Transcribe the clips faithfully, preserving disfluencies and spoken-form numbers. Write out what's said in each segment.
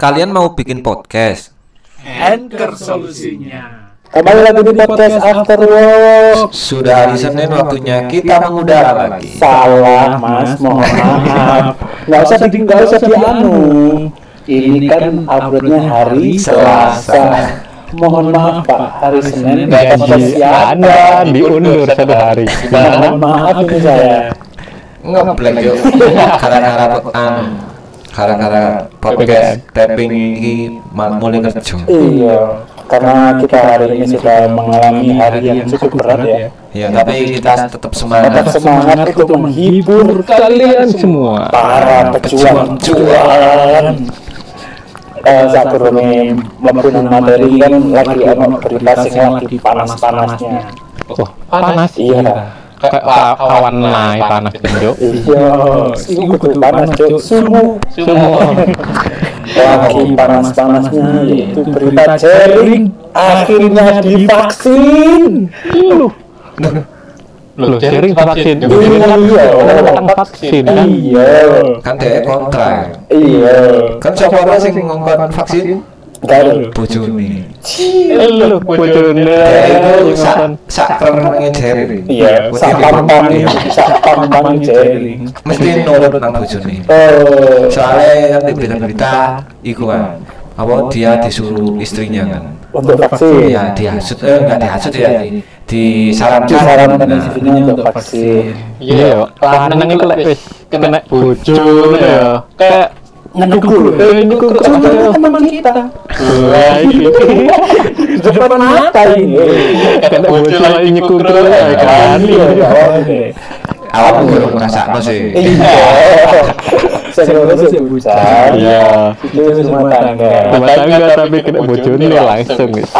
Kalian mau bikin podcast? Anchor solusinya. Kembali lagi di podcast After Work. Sudah hari Senin waktunya kita mengudara lagi. Salah mas, mohon maaf. Nggak usah di, nggak usah dianu. Ini kan uploadnya hari Selasa. Mohon maaf Pak, hari Senin nggak podcast siang. Anda diundur satu hari. Mohon maaf ini saya. Ngeblek yuk. Gara-gara an gara-gara podcast tapping ini mulai kerja. Iya, karena kita hari ini sudah mengalami hari yang cukup berat ya. Ya, tapi kita tetap Tetap semangat. semangat untuk menghibur Kalian semua. para pejuang-pejuang. Eh, saat turunnya mempunyai materi kan lagi ono berita sing lagi panas-panasnya. Oh, panas. Iya. Kayak pa- awan naik panas tunjuk. Iya, itu kudu panas cuk. Sumu. Semua. Lagi panas-panasnya yaitu berita jaring akhirnya divaksin. Loh, sharing vaksin. Iya, Tentang vaksin kan. Iya. Kan dia kontra. Iya. Kan siapa orang sing ngongkon vaksin? Garu. Bojone. Lu bojone Itu sak sak kerenenge jaring. Iya, sak pang-pangi, sak pang-pangi jaring. Mesti nurut nang bojone. Oh, Soalnya kan di berita-berita iku kan apa dia disuruh istrinya kan. untuk vaksin. Ya dihasut eh enggak dihasut ya di, disarankan. Disarankan Nah, istrinya untuk vaksin. Iya, lanang iku lek wis kena bojone ya. Kayak Ngedukur. eh nyukur Cuma teman kita. Wah, iki. Depan mata ini. Kena bojone nyukur kan. Iya, awak belum ngrasakno sih. Iya. Saya sih bucar. Iya. Itu semua tangga. Rumah tangga tapi kena bojone langsung guys.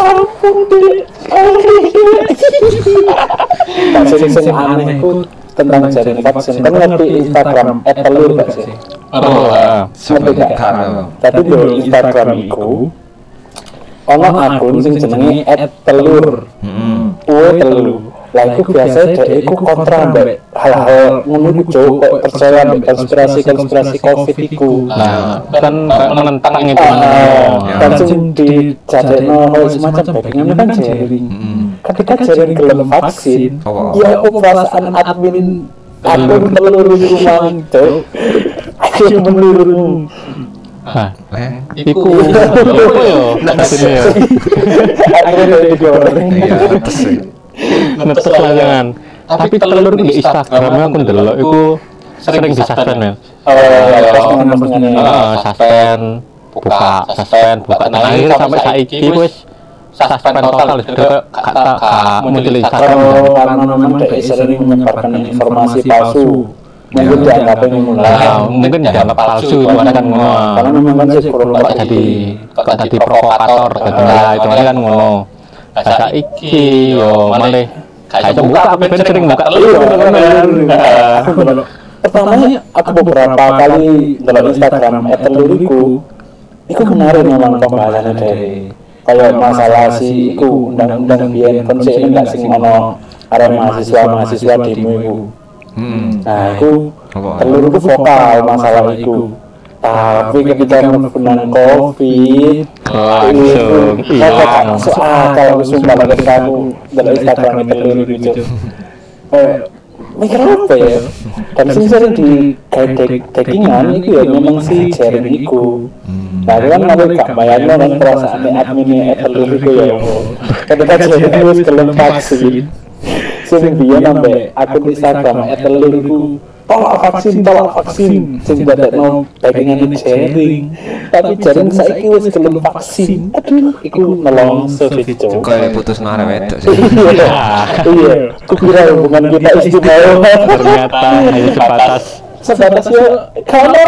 Tak sing aneh itu tentang jaring vaksin. Kan ngerti Instagram @telur gak sih? Oh, ah. Ngerti gak? Tapi di Instagram itu ono akun sing jenenge @telur. Heeh. Uwe telu. Lah iku biasa dhek iku kontra mbek hal-hal ngono iku cuk, kok percaya mbek konspirasi-konspirasi Covid iku. Nah, kan menentang itu. Ah, Ya. kan sing dijadekno hal semacam backingan kan jaring. Heeh. Ketika jaring gelem vaksin, Oh. ya apa perasaan admin akun telur iku mang cuk. Ayo menurutmu. Nah, Eh, iku iku yo asine yo. Akhirnya digoreng. iya atas sih. Netes layangan. Tapi telur di Instagram aku ndelok iku sering disuspend men. Oh, ya, postingan-postingan. Heeh, suspend, buka, suspend, buka. Nah, akhirnya sampai saiki wis suspend total wis gak gak gak muncul Instagram. Oh, karena memang dia sering menyebarkan informasi palsu. Mungkin dianggapnya mulai. Nah, mungkin dianggap palsu itu kan ngono. Karena memang kan sih kurang Kok jadi kok jadi provokator gitu lah itu kan ngono. Nah, saiki yo malah kayak itu buka aku kan sering buka telur kan. Pertamanya aku beberapa kali dalam Instagram @teluriku, itu menarik memang pembahasannya dari kayak masalah si iku undang-undang biyen konsep ini nggak sing ono arek mahasiswa mahasiswa demo iku. Hmm. Nah, aku Apa? telur itu vokal masalah itu. Tapi ketika menggunakan COVID, Langsung hilang. soal kalau sumpah ketika aku dalam Instagram telur itu, eh, mikir apa ya? Dan sing sering di tagingan itu ya memang si jaring itu. Nah, itu kan aku gak bayangin kan perasaan adminnya telur itu ya. Ketika jaring itu gelem vaksin. Sing biyen sampai akun Instagram @telur iku tolak vaksin tolak vaksin sing dadekno backingan ini jaring tapi jaring saiki wis gelem vaksin aduh iku nelongso sih cuk. Kayak putus ngarep wedok sih. Iya iya kukira hubungan kita istimewa Ternyata hanya sebatas sebatas yo kalau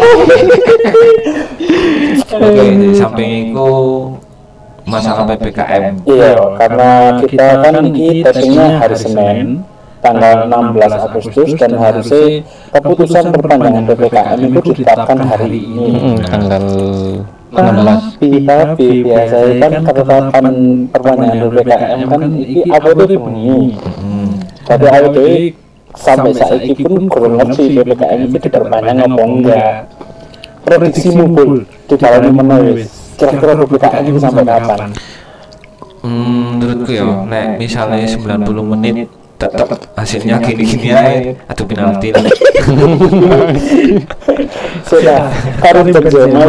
Oke, di samping itu masalah P P K M. iya karena kita kan ini tappingnya hari Senin tanggal enam belas Agustus dan harusnya keputusan perpanjangan P P K M itu ditetapkan hari ini. mm, tanggal enam belas. Tapi tapi biasanya kan ketetapan perpanjangan P P K M kan iki apa itu bengi. Hmm. Jadi A W D sampai saiki pun kurang ngerti P P K M itu diperpanjang apa enggak. prediksimu Bul di dalam menit kira-kira P P K M itu sampai kapan? Hmm, menurutku ya, nek misalnya sembilan puluh menit tetap hasilnya gini-gini aja, atau penalti. Sudah, karena terjemah.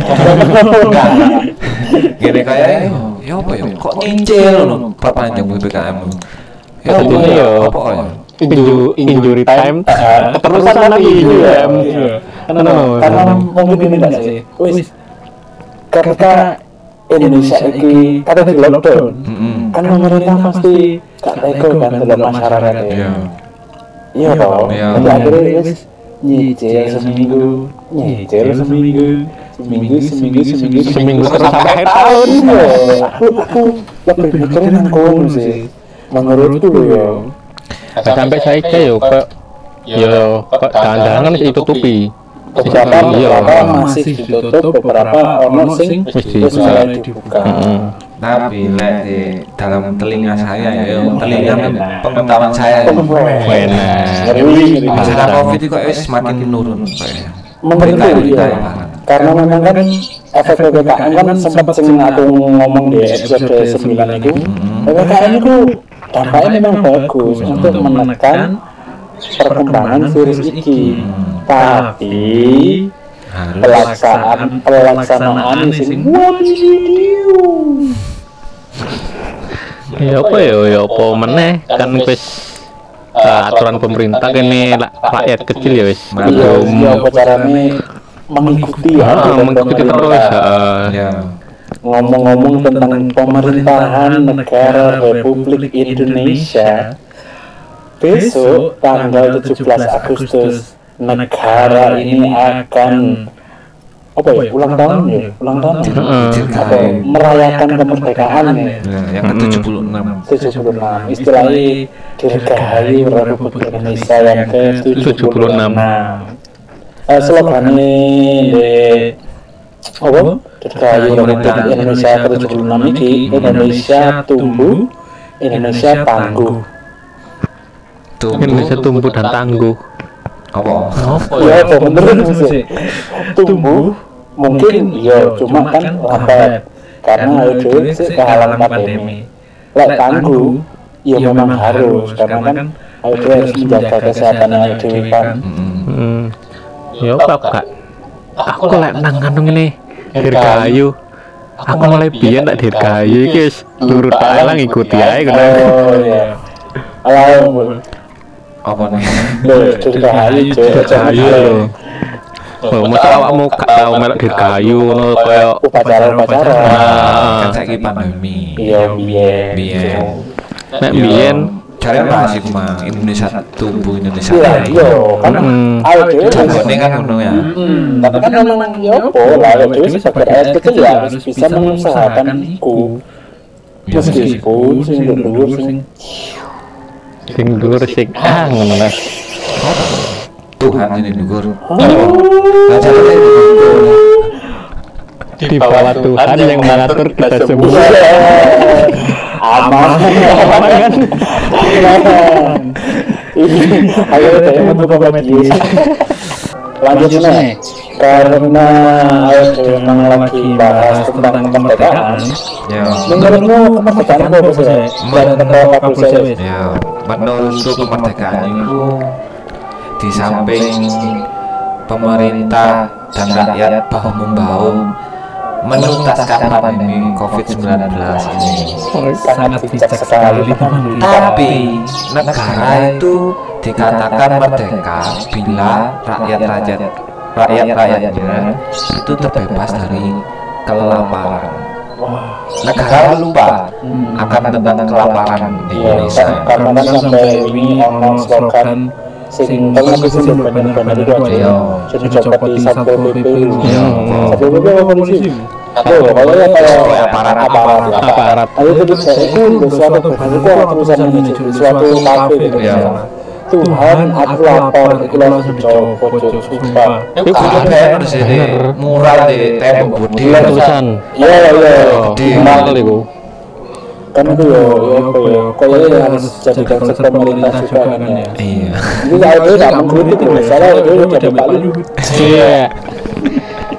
Gini kayak, ya apa ya? Kok nyicil loh perpanjang P P K M? Ya apa ya? Apa ya? Inju, injury time, keterusan lagi jam. Karena mungkin ini enggak sih. Wis. Ketika Indonesia ini kata di lockdown, kan pemerintah pasti gak tega kan dalam masyarakat ya. Iya toh. Jadi akhirnya wis nyicil seminggu, nyicil seminggu, seminggu, seminggu, seminggu, seminggu terus sampai akhir tahun. Aku aku lebih mikirin yang kono sih. Menurutku ya. Sampai saya yo kok yo kok jangan-jangan masih ditutupi. Beberapa beberapa masih ditutup, beberapa ono sing wis mulai dibuka. Tapi lek di dalam telinga saya ya, telinga pengetahuan saya ya. Ngeri. Masalah Covid itu kok wis semakin menurun kayaknya. Menurutku ya. Karena memang kan efek P P K M kan sempat sing aku ngomong di episode sembilan itu, P P K M itu dampaknya memang bagus untuk menekan perkembangan virus ini. Tapi pelaksanaan pelaksanaan sing ya apa ya ya apa meneh kan wis uh, aturan pemerintah kene rakyat kecil ya wis belum apa carane mengikuti ya ah, mengikuti terus ya. Ngomong-ngomong tentang pemerintahan negara Republik Indonesia, besok tanggal tujuh belas Agustus negara ini akan apa ya ulang tahun ya ulang tahun atau merayakan kemerdekaan ya yang ke tujuh puluh enam tujuh puluh enam istilahnya dirgahayu Republik Indonesia yang ke tujuh puluh enam. Eh slogannya di apa dirgahayu Republik Indonesia ke tujuh puluh enam ini Indonesia tumbuh, Indonesia tangguh. Indonesia tumbuh dan tangguh. Apa? Ya, apa menurut sih? Tumbuh mungkin ya cuma kan lambat karena itu sih kehalang pandemi. Lek tangguh ya memang harus karena kan itu harus menjaga kesehatan yang itu kan. Hmm. Ya apa kak? Aku lek nang kandung ini dirgahayu. Aku mulai biyen tak dirgahayu iki wis nurut ae lah ngikuti ae ngono. Oh iya. Alam Apa nih? Loh, dirgahayu Dirgahayu lho. Oh, masa awakmu gak tau melok dirgahayu ngono kaya upacara-upacara. Kan saiki pandemi. Iya, biyen. Biyen. Nek biyen cari bahas iku mah Indonesia tumbuh Indonesia. Iya, iya, kan ayo dhewe Jagone kan ngono ya. tapi kan memang ya apa lah ya dhewe sebagai rakyat kecil ya harus bisa mengusahakan iku. Meskipun sing dhuwur sing sing dhuwur sing ah ngono lah. Tuhan ini dhuwur. Nah, caranya Di bawah Tuhan yang mengatur kita semua. aman kan? Ayo kita membuka media. Lanjut nih, karena ayo memang lagi bahas tentang kemerdekaan. ya. Menurutmu kemerdekaan apa sih? Dan tentang apa sih? Ya, menurutku kemerdekaan itu di samping pemerintah dan rakyat bahu membahu menuntaskan pandemi covid sembilan belas ini. Sangat bijak sekali. Tapi negara itu dikatakan merdeka bila rakyat-rakyat rakyat-rakyatnya itu terbebas dari kelaparan. Negara lupa akan tentang kelaparan di Indonesia. Karena kan sampai ini ono slogan sing tengah itu sing bener-bener itu aja. Jadi copot di Satpol P P. Satpol P P apa polisi? Aduh, pokoknya kayak aparat aparat Aparat. Ayo itu saya itu suatu benar itu tulisan ini suatu kafe gitu ya. Tuhan aku lapar itu langsung dicopot sumpah. Itu kan harus ini mural di tembok budi Tulisan. Iya iya. Di mal iku. Kan itu ya ya apa ya kayaknya harus jadi konsep pemerintah juga kan ya. iya Ini saya itu tidak mengkritik itu salah itu jadi paling Iya.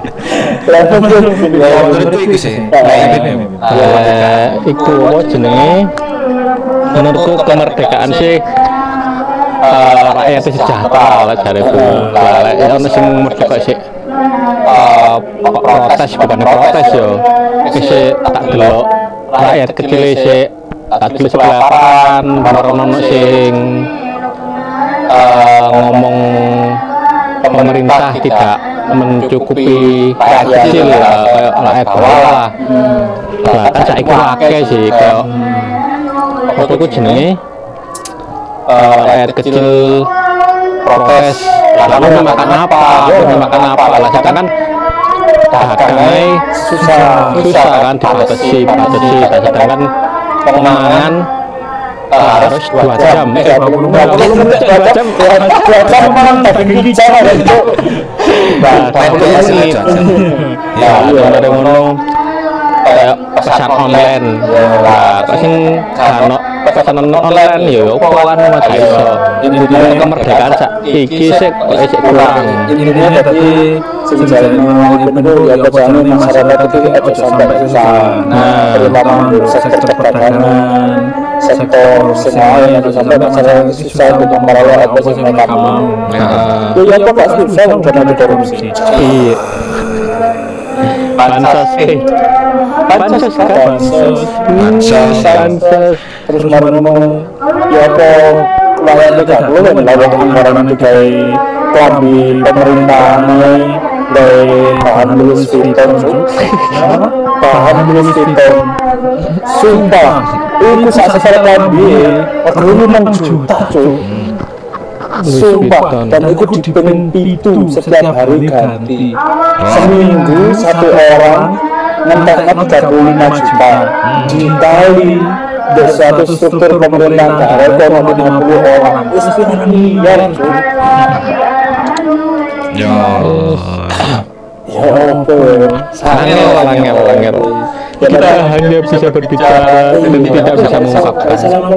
Ya menurutku iku sih. Kayak gini. Eh, iku apa jenenge? Menurutku kemerdekaan sih eh, rakyat itu sejahtera lah jariku. Lah lek ono sing merdeka sih eh, protes bukan protes yo. Wis tak delok rakyat kecil sih tak delok kelaparan, baru ono sing eh, ngomong pemerintah tidak mencukupi rakyat kecil ya kayak rakyat bawah lah. Lah kan saiki akeh sih kayak apa iku jenenge eh, rakyat kecil protes lalu mau makan apa mau makan apa lah sedangkan dagangnya susah susah kan dibatasi dibatasi sedangkan pemangan eh, harus dua jam eh dua jam dua jam memang daging hijau ada itu. nah satu menit ya ada ngono kayak pesan online lah kok sing kan pesanan online ya opo kan mas iso kemerdekaan sak iki sik kok isih kurang Intinya tadi sejarah itu ya bacaan masyarakat itu aja sampai susah. Nah, terutama untuk sektor perdagangan, sektor semua yang ada sampai masyarakat susah untuk merawat apa yang mereka mau. nah, Ya apa pasti susah karena ada korupsi. iya bansos eh bansos kan Bansos, Bansos. bansos, terus ngomong ya apa lawan itu gak perlu kan lawan anggaran itu kayak kelambi pemerintah nih dari bahan Louis Vuitton bahan Louis Vuitton sumpah itu saat secara kelambi waktu enam juta cuy sumpah dan itu dipening pitu setiap hari ganti seminggu satu orang ngenteknya tiga puluh lima juta dikali dari suatu struktur pemerintahan daerah ekonomi lima puluh orang itu sekitar miliar cuy. Ya. Ya ampun, angel angel angel kita hanya bisa berbicara dan tidak bisa mengungkapkan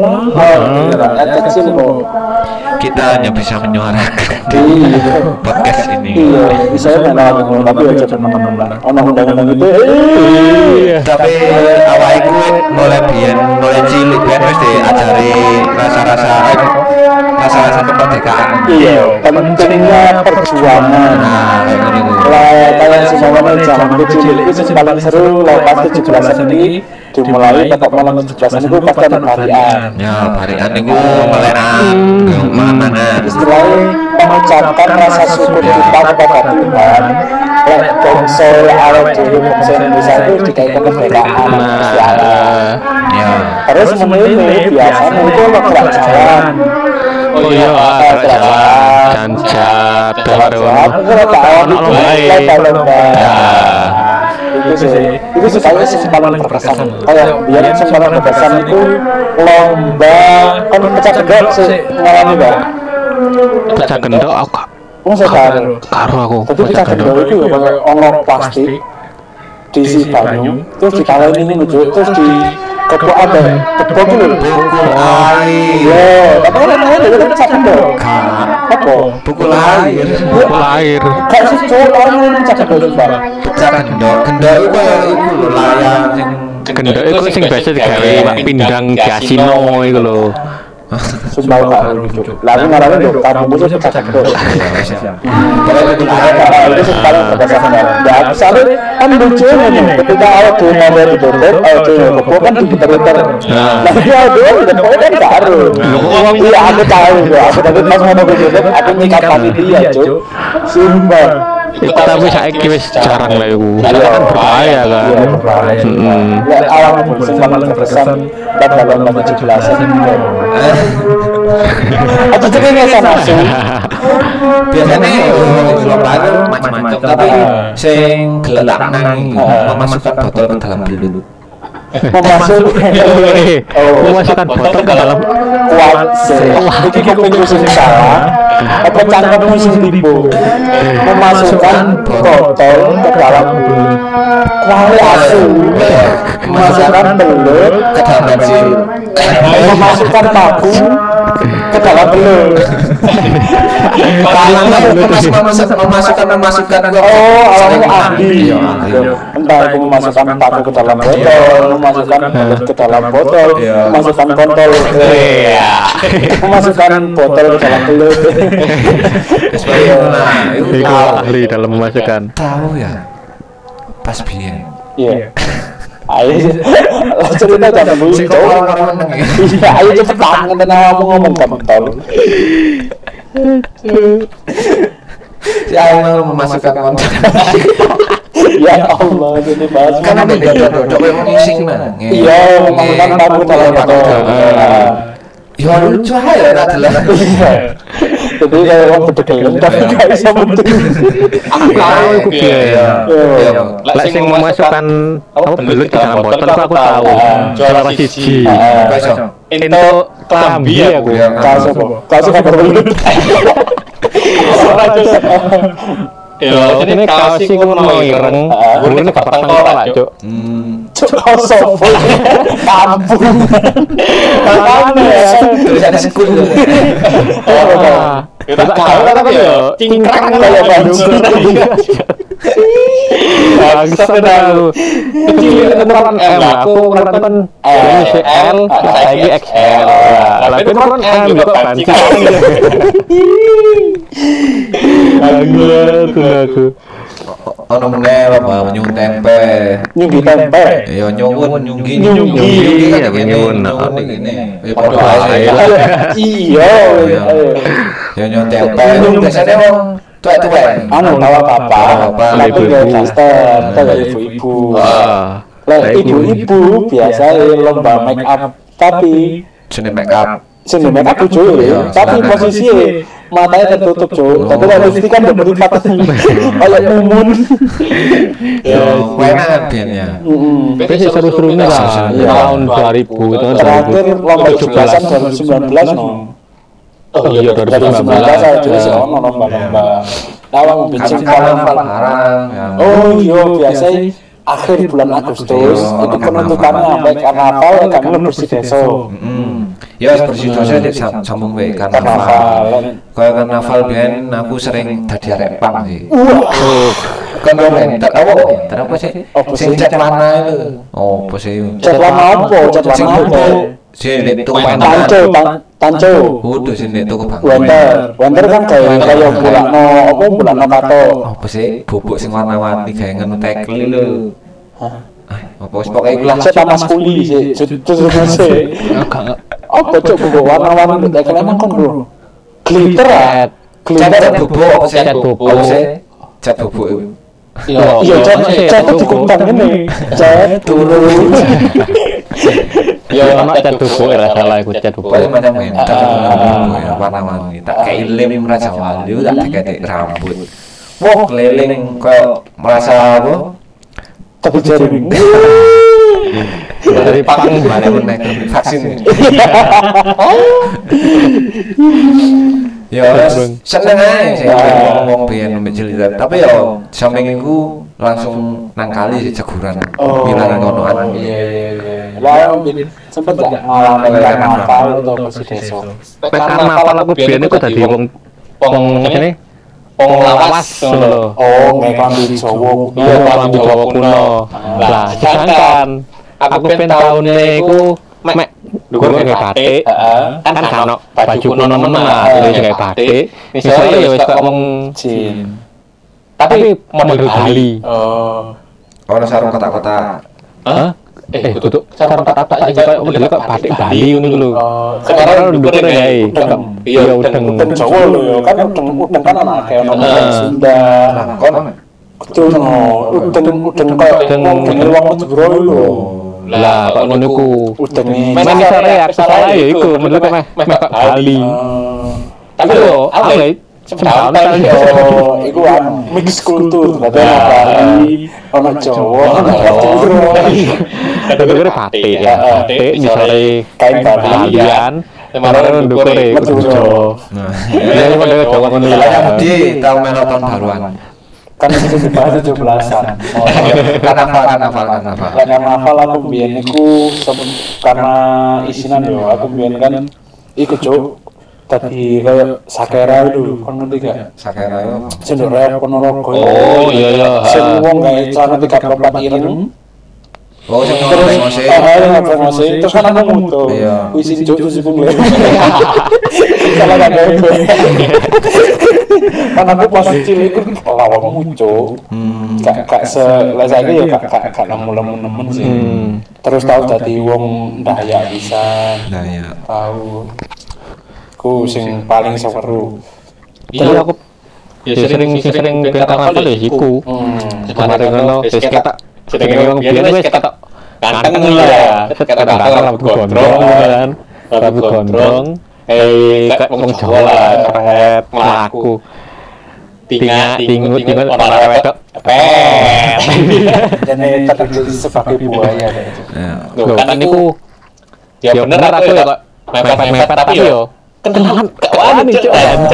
rakyat kecil kok. Kita hanya bisa menyuarakan di podcast ini. Iya, bisa kan ngomong tapi aja teman-teman lah. Ono undang-undang itu. iya Tapi awal itu mulai biyen mulai cilik biyen wis diajari rasa-rasa rasa-rasa kemerdekaan. Iya, pentingnya perjuangan. Nah, kayak gini tuh. Lah kayak semuanya zaman kecil itu sih paling seru lepas tujuh belasan ini dimulai tetap malam tujuh belasan itu pas kan harian. Ya, barian niku melerang mana. Istilahnya mengucapkan rasa syukur kita kepada Tuhan. Lek bangsa awal dhewe bangsa Indonesia itu dikai kemerdekaan. nah Ya. Terus memilih biasanya itu lo gerak jalan. oh iya gerak jalan janjat baru Aku kalau tahu itu lomba-lomba. Itu sih, itu sih saya sih paling berkesan. Kayak biar yang paling berkesan itu lomba kan pecah gendok sih ngalami mbak. pecah gendok aku gak- Oh sekarang. karo aku Jadi pecah gendok itu ya pakai ono plastik diisi banyu, terus ditawain ini ngejuk, terus di kepok ada kepok itu loh. Air. Iya, tapi kan namanya dari pecah gendok. Apa? Pukul air. pukul air Kayak sih cowok orang yang pecah gendok juga. Pecah gendok. Gendok itu kayak iku lho layang sing gendok itu sing biasa digawe mak pindang kasino iku lho Sumpah gak lucu. Lalu ngarangin dong, kamu itu pecah gendok. Pokoknya itu Itu sih paling berkesan. Ya, soalnya kan lucunya nih, ketika awal tuh nomor ditutup, awal tuh kepok kan diputer-puter. Nah, dia doang, dan pokoknya kan gak harus. Iya, aku tahu, aku tadi pas mau ditutup, aku nyikat panitia, cuy. Sumpah. tapi saiki wis jarang lah iku karena kan berbahaya kan Iya, berbahaya. Mm-mm. Ya, awal pun sih paling berkesan, dan dalam nomor tujuh belasan. Aku tuh kayaknya sama sih. biasanya lomba itu macam-macam tapi sing gelak nang memasukkan botol ke dalam belut. memasukkan Eh, memasukkan botol ke dalam kuat iki kuping sing salah apa cangkemmu sing tipu memasukkan botol ke dalam kuali asu memasukkan belut ke dalam bensin. memasukkan tabung ke dalam belut Kalau memasukkan memasukkan memasukkan oh awalnya ahli Iya, ahli. entah itu memasukkan tabung ke dalam botol memasukkan belut ke dalam botol memasukkan kontol Iya. memasukkan botol ke dalam belut Nah, itu Itu tahu. ahli dalam memasukkan. Tahu ya. Pas biyen. iya ayo cerita jangan dulu Sing kok orang-orang meneng ya. iya ayo cepetan ngenten awakmu ngomong kontol Si Aing mau memasukkan konten. ya Allah ini bahas Karena beda dodok yang ngising mana. iya memasukkan tabung ke dalam botol Ya lucu aja tak jelas. jadi kayak orang berdegelem tapi gak bisa betul Tahu iku piye ya. Iya. Lek sing memasukkan apa belut ke dalam botol aku aku tahu. Juara siji. Besok. Itu klambi aku. kaos apa kaos apa belut Ya, ini kaos iku mau ireng, gurune gak pernah ngelak, Cuk. Hmm. cuk kaos apa kampung mana Tulisan sekul. Kita tahu tapi yo cingkrang kayak Bandung Bangsat tahu. Kecil ukuran M, aku ukuran kan ini si L, lagi X L. Lah, tapi ukuran M kok banci. Bangsat aku. Ono meneh apa nyung tempe. nyunggi tempe Ya nyungun nyunggi Nyunggi. kan Iya, nyungun nyungun. ngene. Ya padha ae. iya Ya nyung tempe. Biasane wong tuwek-tuwek. anu bawa papa Bawa papa. tapi gak daster kalau ibu-ibu Wah. lah ibu-ibu biasa lomba make up tapi Jenenge make up. sini make up tuh Iya, tapi silakan. posisi matanya tertutup cuy tapi kalau mesti kan udah berlipat kayak mumun Ya enak biyen ya. Tapi sih seru-serunya lah. Iya. Tahun dua ribu itu kan terakhir lomba tujuh tujuh belas. belasan dua ribu sembilan belas no Oh iya dua ribu sembilan belas. aja sih ono lomba-lomba lawang bincang Karnaval karnaval barang. ya. oh iya biasa akhir bulan Agustus Iya, itu penentukannya sampai karnaval kan bersih desa Mm. Ya bersih dosa di sam- sambung wae karnaval karnaval. Kaya karnaval biyen aku sering dadi arek pang sih. wah Kan ben tak tahu apa? Tak apa sih? Apa Sing sih? cat warna itu. Oh, apa sih? cat warna apa cat Sing warna apa Sing di tuku tanco pantan. tan- tanco Udah sing di tuku pantan. Wonder, Wonder kan kayak kayak bulakno apa bulakno kato. Apa sih? Bubuk sing warna-warni gawe ngono tekel lho. Hah? Ah, apa wis pokoke iku lah. Saya tamas kuli sih, terus sih. Apa cok bubuk warna-warni tekel emang kon bro? Glitter ah, Cat glitter. bubuk apa sih? Cat bubuk. Apa sih? Cat bubuk itu. Iya, iya cat cat dikumpang ini. Cat turun. Ya ono cat bubuk ora salah iku cat bubuk. Pokoknya macam mental ya warna-warni. Tak kayak lem Raja Wali tak diketik rambut. Wah, keliling kayak merasa apa? Tapi jaring. Dari pang mana meneh vaksin. Ya seneng ae sih ngomong biyen mbek Jelita. Tapi yo samping iku langsung nang kali sih ceguran. Bilang ngono an. Iya iya iya. Lah sempet gak ngalamin karnaval atau bersih desa? Nek karnaval aku biyen iku dadi wong wong ngene wong lawas ngono lho. Oh, nggak klambi Jawa. Iya, klambi Jawa kuno. Lah, sedangkan aku pengen tahunnya iku mek dhuwur kayak batik. Kan kan ono baju kuno nemen lah, jadi kayak batik. Misalnya ya wis kok wong Jin. tapi model Bali. Oh. Ono sarung kotak-kotak. Hah? Eh, kudu sarung tak-tak aja kayak model kok batik Bali ngono lho. Oh, Sekarang dhuwur kayak udeng. iya udeng. Udeng Jawa lho ya, kan udeng udeng kan ana kayak ono udeng Sunda. Kon Kudu ono udeng udeng kayak Udeng. udeng wong Madura lho. Lah, kok ngono iku. Udenge. Men misalnya aku salah ya iku model kok meh meh kok Bali. Oh. Tapi yo, aku ya Jembatan yo iku anu mix kultur dadi ana Bali ana Jawa ana Madura Ndukure batik ya batik misale kain Balian kemarin ndukure Madura ya model Jawa ngono ya Di tahun melo tahun baruan. kan itu dibahas tujuh belasan Karnaval, karnaval, karnaval. karnaval aku biyen iku karena isinan yo aku biyen kan iku cuk tadi kayak sakera itu kan ngerti gak Sakera yo. sendok rep ponorogo oh iya iya sing wong gawe celana tiga puluh empat ireng Oh, sing terus ngomong ah promosi terus kan aku mutu Iya. wis cuk terus pungli kalau gak gawe kan aku pas cilik iku lawang mucu gak gak se lah saiki ya gak gak gak nemu-nemu sih terus tau dadi wong Dayak bisa Nah ya. tahu ku sing paling seru iya aku ya sering sering biar karnaval ya iku kemarin ngono wis ketok jenenge wong biyen wis ketok ganteng lah ketok ganteng rambut gondrong kan rambut gondrong eh kayak wong Jawa lah keret mlaku tinga tingut tingut ora wedok pet jadi terjadi sebagai buaya Ya. lho kan niku ya bener aku ya kok mepet-mepet tapi yo kenalan gak wani cuk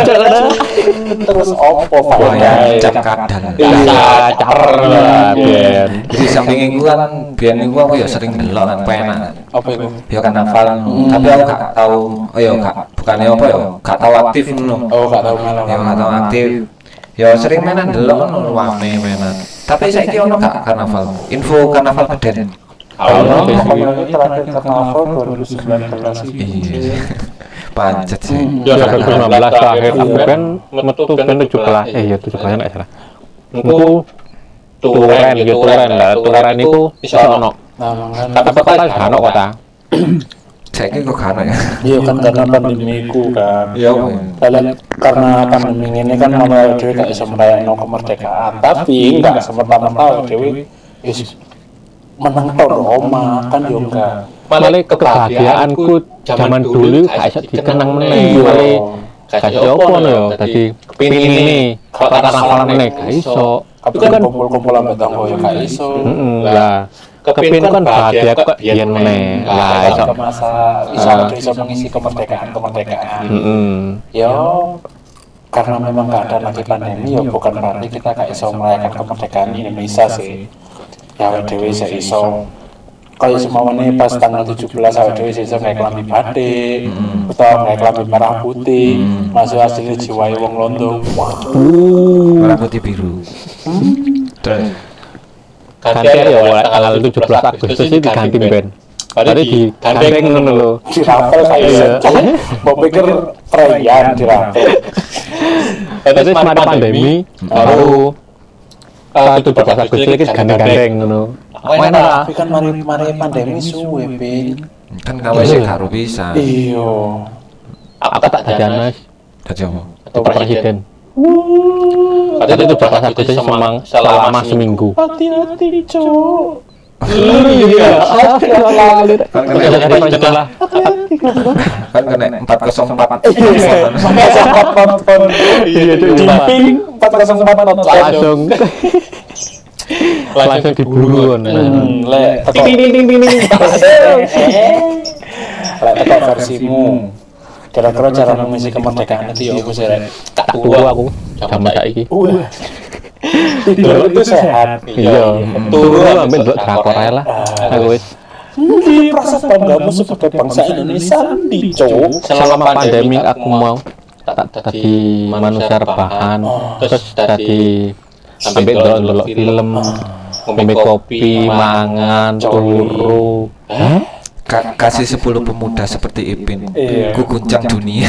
terus opo Buaya faedah cap kadal. bisa caper lah biyen Di samping iku kan biyen iku aku ya sering delok nang pena. apa itu Ya karnaval, tapi aku gak tahu, oh ya gak bukannya apa ya, gak tahu aktif ngono. oh gak tahu malah Ya gak tahu aktif. Ya sering mainan delok ngono rame mainan. Tapi saiki ono gak karnaval? Info karnaval Beden. ono pokoknya terakhir karnaval dua ribu sembilan belas Iya. Pancet sih. ya dua ribu enam belas terakhir aku kan metu kan tujuh belas eh ya tujuh belas nek salah niku turen ya turen lah turen niku iso ono nah mangan tapi kota gak ono kota Saiki kok gak ono ya. iya kan karena pandemi ku kan Ya. dan karena pandemi ini kan awal dhewe gak iso merayakan kemerdekaan tapi enggak semata-mata dhewe wis menang tok Roma kan yo enggak malah kebahagiaanku zaman dulu gak iso dikenang meneh malah gak iso apa no yo dadi kepingin ini kok karnaval meneh gak iso tapi kan kumpul-kumpul ambek tangga yo gak iso heeh lah kepingin kan bahagia kok biyen meneh lah iso masa iso iso mengisi kemerdekaan-kemerdekaan heeh yo karena memang gak ada lagi pandemi yo bukan berarti kita gak iso merayakan kemerdekaan Indonesia sih ya awake dhewe iso iso kaya semuanya pas tanggal tujuh belas awake dhewe iso gawe klambi batik utawa gawe klambi merah putih masuk asli jiwae wong Londo Merah putih biru. Terus ganti ya mulai tanggal tujuh belas Agustus ini diganti ben tadi digandeng ngono lho dirapel kaya mau pikir perayaan dirapel terus mari pandemi baru uh, tujuh belas Agustus ini gandeng-gandeng ngono enak lah tapi kan mari mari pandemi suwe Pin kan kalau sih karo bisa. iya aku tak jajan mas Dadi apa? itu presiden jadi tujuh belas Agustus semang selama seminggu hati-hati cok iya Kan kena jadi presiden lah kan kena empat nol empat. nonton iya itu Jiping empat nol empat nonton langsung langsung diburu kan lek ting ting ting ting ting lek teko versimu kira-kira cara mengisi kemerdekaan itu ya apa sih Rek? tak turu aku zaman saiki Tidur itu sehat iya turu ambil delok drakor ae lah aku wis di rasa banggamu sebagai bangsa Indonesia di cok selama pandemi aku mau tak tadi manusia rebahan terus tadi sampai delok-delok film ngombe kopi mangan turu hah Ka- kasih sepuluh pemuda seperti Ipin. Iya. Ku guncang dunia.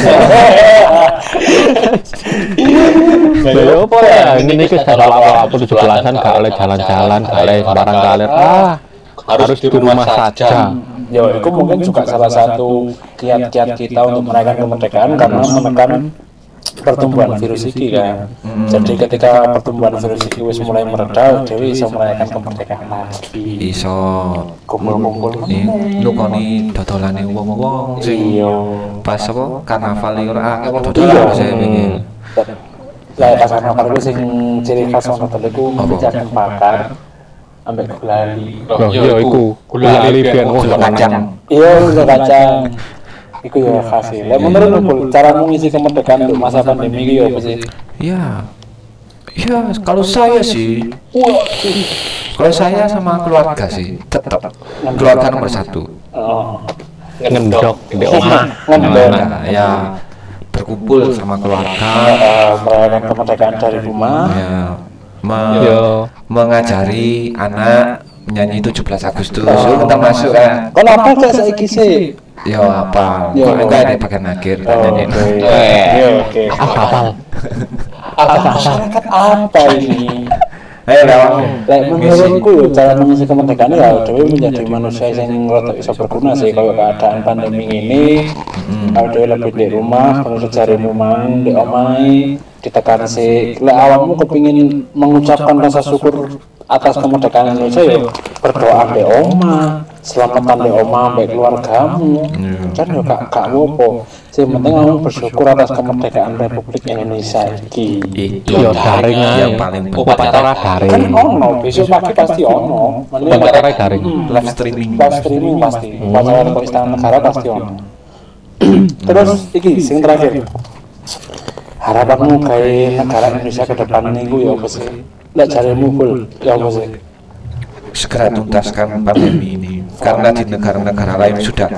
lha opo ya ini iki salah apa tujuh belasan gak oleh jalan-jalan gak oleh sembarang kalir ah harus di rumah saja ya itu mungkin juga salah satu kiat-kiat kita untuk merayakan kemerdekaan karena menekan pertumbuhan virus ini kan. Hmm. Jadi ketika pertumbuhan virus ini wis mulai mereda, Dewi bisa merayakan kemerdekaan lagi. Iso Kumpul-kumpul. nih nukoni dodolane wong-wong sing Iya. pas apa karnaval iki ora akeh wong dodolan saya pengen. Lah pas ana karo sing ciri khas ono telu iku jagung bakar ambek gulali. Loh, iya iku gulali ben oh kacang. Iya, gula kacang. Iku ya khas. Lah menurut lu caramu ngisi kemerdekaan untuk masa pandemi iki ya apa sih? Ya. Ya, kalau saya sih, kalau saya sama keluarga sih, tetap keluarga nomor satu. Oh. Ngendok di omah. Ngendok. Nah, ya berkumpul sama keluarga, Eh, merayakan kemerdekaan dari rumah. ya, me- Yo. mengajari anak menyanyi tujuh belas Agustus. Yuk kita masuk kan. Kon apa kayak saiki sih? Ya apa? Ya, Kok enggak ada bagian akhir Oh, nyanyi. oke. Iya, oke. Apa-apa. Masyarakat apa ini? Ayo lewat. Lek menurutku yo cara mengisi kemerdekaan ya dhewe menjadi manusia yang rada iso berguna sih kalau keadaan pandemi ini. Kalau dhewe lebih di rumah, kalau secarimu mang di omahe ditekan sih. Lek awakmu kepingin mengucapkan rasa syukur atas kemerdekaan Indonesia yo berdoa di omah, selamatan di omah mbek keluargamu. Kan yo gak gak apa. Sing penting kamu bersyukur atas kemerdekaan Republik Indonesia iki. Yo daring ae. Yang paling penting. Upacara daring. Kan ono, besok pagi pasti ono. Upacara daring. Live streaming. Live streaming pasti. Upacara kok Istana Negara pasti ono. Terus iki sing terakhir. Harapanmu gawe negara Indonesia ke depan niku ya apa sih? Lek jaremu full ya apa sih? Segera tuntaskan pandemi ini karena di negara-negara lain sudah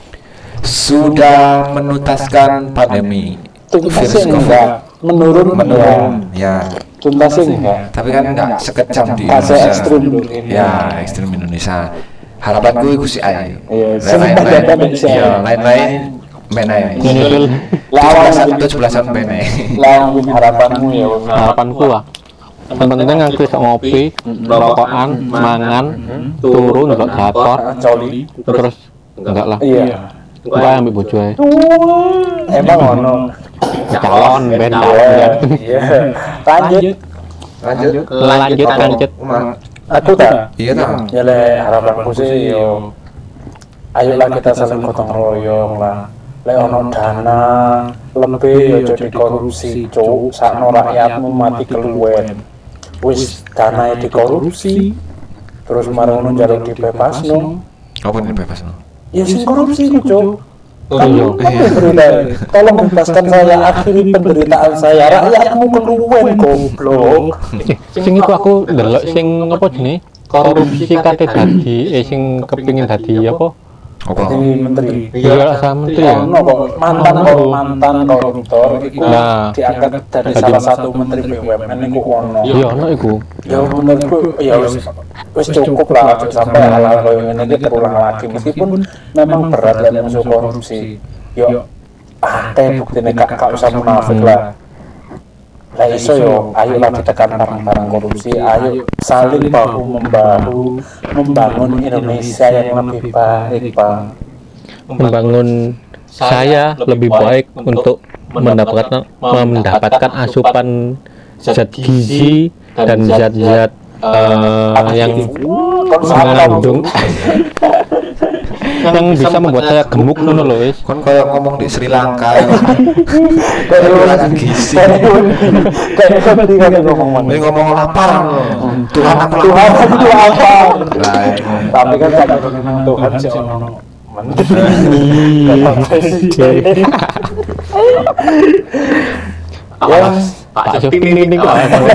sudah menuntaskan pandemi virus Tuntasnya COVID enggak menurun menurun ya, Tuntasnya enggak. tapi kan enggak sekejam di Fase Indonesia. ekstrim dulu ini. Ya, ekstrim Indonesia. Harapanku itu si Ai. Iya, lain-lain, sebenarnya si Ai. ya, lain-lain menai. Nyusul Lawan Tujuh belasan menai. lawan harapanmu ya. harapanku ah. Yang penting aku iso ngopi, rokokan, mangan, turu ndelok drakor, Coli. terus enggak lah. Iya. Gua ambil bojo ae. Emang ono. Calon ben Iya. calon. Iya. Lanjut. Lanjut. Lanjut lanjut. Aku tak. Iya tak. Ya le harapanku sih yo. Ayolah kita saling gotong royong lah. Lek ono dana lebih yo jadi korupsi, cuk. Sakno rakyatmu mati keluwen. Wis dana dikorupsi. Terus marang njaluk dibebasno. Apa ini bebas no? Ya sing korupsi ku, cuk. Oh iya. Penderitaan. Tolong bebaskan saya, akhiri penderitaan saya. Rakyatmu keluwen goblok. Sing iku aku ndelok sing apa jenenge? Korupsi kate dadi eh sing kepengin dadi apa? Apa? Jadi menteri. Iya sama menteri ya. Ono kok mantan kok mantan koruptor iku Nah. diangkat dari salah satu menteri B U M N iku ono. Iya ono iku. Ya menurutku ya wis wis cukup lah aja sampai hal-hal koyo ngene iki terulang lagi meskipun memang berat lah musuh korupsi. Yo akeh buktine gak gak usah munafik lah. Lah iso yo ayolah ditekan barang-barang korupsi, ayo saling bahu membahu membangun Indonesia yang lebih baik, Pak. Membangun saya lebih baik untuk mendapatkan mendapatkan asupan zat gizi dan zat-zat eh, yang mengandung yang bisa membuat saya gemuk ngono lho wis. Kon kayak ngomong di Sri Lanka. Kayak lagi gizi. kayak tadi kan ngomong. Ini ngomong lapar. Tuhan aku Tuhan lapar. itu apa? Lah, Tapi kan tak Tuhan sih ono menteri. Presiden. Ya, Pak Jokowi ini kok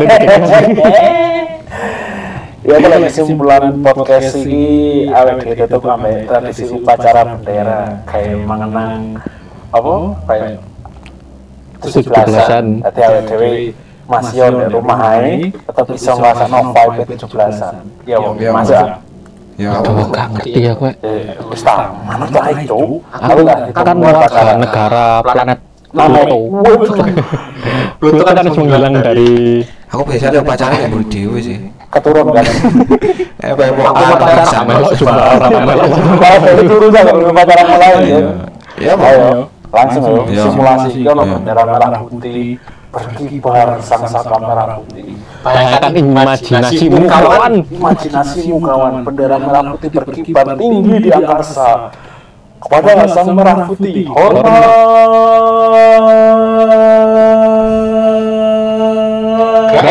ya kalau kesimpulan podcast ini awet ditutup sampai tradisi upacara bendera kayak mengenang apa kayak tujuh belasan tadi awet dewi masih di rumah ae tetap bisa ngrasakno vibe tujuh belasan ya Ya, masa Ya, Aduh, gak ngerti ya kowe. eh wis ta manut wae cuk aku gak Kan warga negara planet Pluto. Pluto kan harus menghilang dari aku biasanya upacara yang buru dewe sih. keturun kan Eh, bae mau aku upacara sama melok jumlah orang melok. kalau dari turun kan upacara lain ya Ya, ayo langsung ayo Ya. simulasi Ya. ono bendera merah putih berkibar sang saka merah putih. Bayangkan imajinasimu kawan. Imajinasimu kawan, bendera merah putih berkibar tinggi di angkasa kepada sang merah putih. Hormat.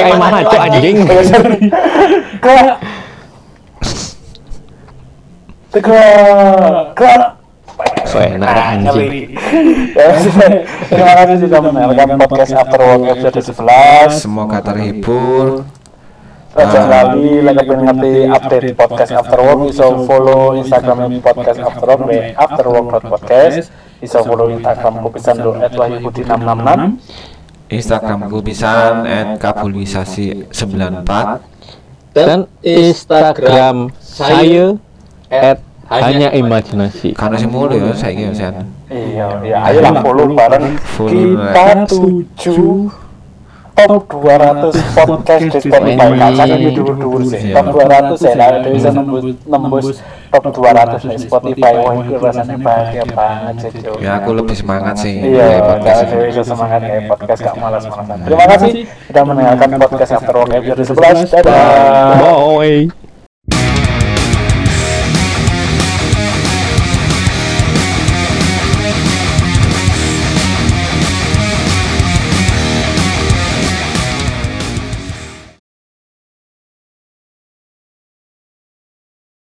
kayak mana cok anjing. Kak. Tegak. Kak. So enak anjing. Ya, terima kasih sudah mendengarkan podcast After Work episode sebelas. Semoga terhibur. Aja lali lagi pengen ngerti update podcast After Work, iso follow Instagram podcast After Work di afterwork.podcast, iso follow Instagramku pisan do et wahyudi enam enam enam, Instagramku pisan et kabulisasi sembilan empat, dan Instagram saya at hanya imajinasi. karena sih mulu ya saiki ya Sen. Iya, ya ayolah follow bareng Follow, kita tuju top dua ratus podcast di Spotify. Kacang ini dulu-dulu sih. Top dua ratus ya, lah bisa nembus nembus top dua ratus di Spotify. Wah, itu rasanya bahagia banget sih, Cuk. Ya aku lebih semangat sih Iya, kayak podcast saya ini. bisa semangat kayak podcast gak malas-malasan. Terima kasih sudah mendengarkan podcast After Work episode sebelas. Dadah. Bye.